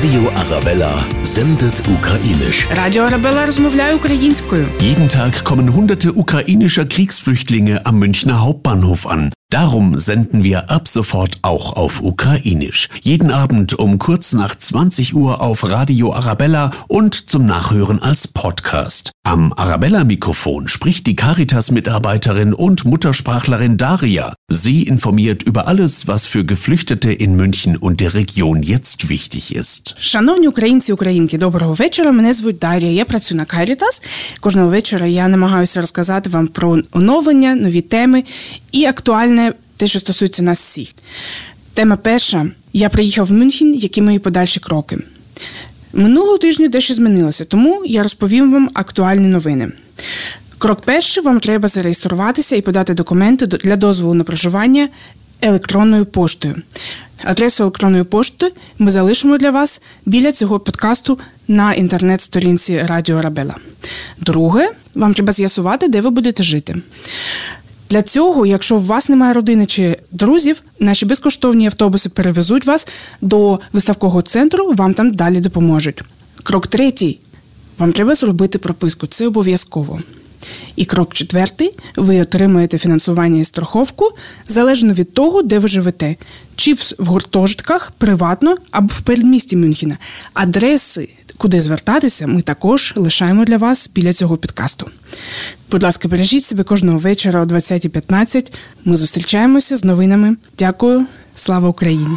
Radio Arabella sendet ukrainisch. Радіо Арабелла розмовляє українською. Jeden Tag kommen hunderte ukrainischer Kriegsflüchtlinge am Münchner Hauptbahnhof an. Darum senden wir ab sofort auch auf Ukrainisch. Jeden Abend um kurz nach 20 Uhr auf Radio Arabella und zum Nachhören als Podcast. Am Arabella-Mikrofon spricht die Caritas-Mitarbeiterin und Muttersprachlerin Daria. Sie informiert über alles, was für Geflüchtete in München und der Region jetzt wichtig ist. Шановні українці і українки, доброго вечора. Мене звуть Дар'я, я працюю на Caritas. Кожного вечора я намагаюся розказати вам про оновлення, нові теми і актуальне те, що стосується нас всіх. Тема перша. Я приїхав в Мюнхен, які мої подальші кроки. Минулого тижня дещо змінилося, тому я розповім вам актуальні новини. Крок перший. Вам треба зареєструватися і подати документи для дозволу на проживання електронною поштою. Адресу електронної пошти ми залишимо для вас біля цього подкасту на інтернет-сторінці Радіо Арабелла. Друге, вам треба з'ясувати, де ви будете жити. Для цього, якщо у вас немає родини чи друзів, наші безкоштовні автобуси перевезуть вас до виставкового центру, вам там далі допоможуть. Крок третій. Вам треба зробити прописку. Це обов'язково. І крок четвертий. Ви отримаєте фінансування і страховку залежно від того, де ви живете. Чи в гуртожитках, приватно, або в передмісті Мюнхена. Адреси, куди звертатися, ми також лишаємо для вас біля цього підкасту. Будь ласка, бережіть себе кожного вечора о 20:15. Ми зустрічаємося з новинами. Дякую. Слава Україні!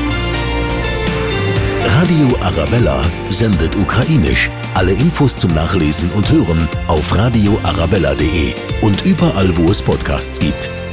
Radio Arabella sendet ukrainisch. Alle Infos zum Nachlesen und Hören auf radioarabella.de und überall, wo es Podcasts gibt.